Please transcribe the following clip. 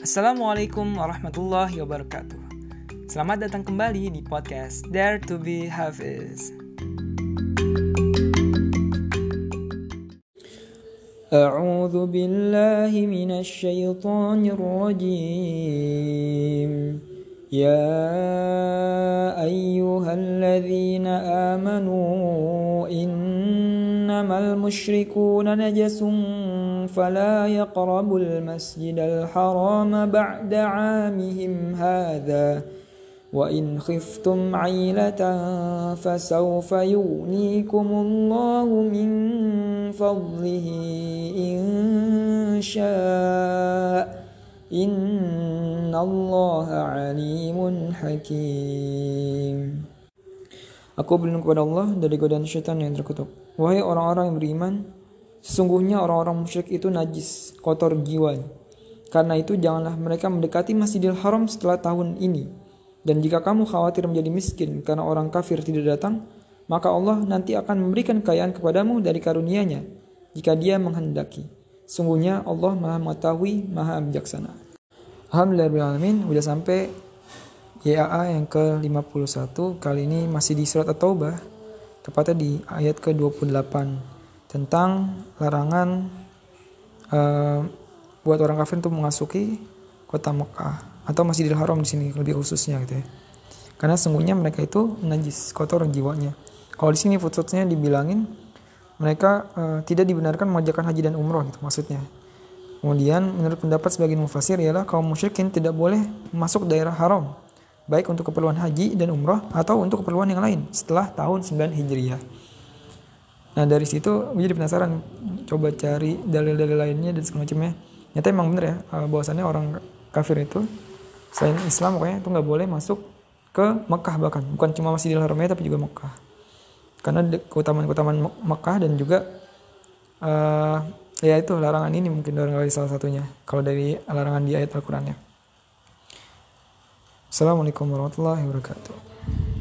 Assalamualaikum warahmatullahi wabarakatuh. Selamat datang kembali di podcast Dare to be Hafiz. A'udzu billahi minasy syaithanir rajim. Ya ayyuhalladzina amanu innamal musyrikuuna najasun fala yaqrabul masjidal harama ba'da 'amihim hadza wa in khiftum 'ailatan fasawfa yughnikumullahu min fadlihi in syaa innallaha 'alimun hakim. Aku berlindung kepada Allah dari godaan syaitan yang terkutuk. Wahai orang-orang yang beriman, sesungguhnya orang-orang musyrik itu najis, kotor jiwa. Karena itu janganlah mereka mendekati Masjidil Haram setelah tahun ini. Dan jika kamu khawatir menjadi miskin karena orang kafir tidak datang, maka Allah nanti akan memberikan kekayaan kepadamu dari karunia-Nya jika Dia menghendaki. Sungguhnya Allah Maha Mengetahui, Maha Bijaksana. Alhamdulillahirrahmanirrahim. Udah sampai YAA yang ke-51. Kali ini masih di surat At-Taubah, tepatnya di ayat ke-28, tentang larangan buat orang kafir untuk memasuki kota Mekah atau Masjidil Haram di sini lebih khususnya gitu ya. Karena sungguhnya mereka itu najis, kotor jiwanya. Kalau di sini footnote-nya dibilangin mereka tidak dibenarkan mengerjakan haji dan umroh gitu maksudnya. Kemudian menurut pendapat sebagian mufasir ialah kaum musyrikin tidak boleh masuk daerah haram, baik untuk keperluan haji dan umroh atau untuk keperluan yang lain setelah tahun 9 Hijriah. Nah dari situ gue jadi penasaran, coba cari dalil-dalil lainnya dan semacamnya. Nyata emang bener ya, bahwasannya orang kafir itu selain Islam pokoknya itu gak boleh masuk ke Mekah, bahkan bukan cuma Masjidil Haramnya tapi juga Mekah. Karena keutamaan-keutamaan Mekah dan juga ya itu larangan ini mungkin dari salah satunya kalau dari larangan di ayat Al-Qur'annya. Assalamualaikum warahmatullahi wabarakatuh.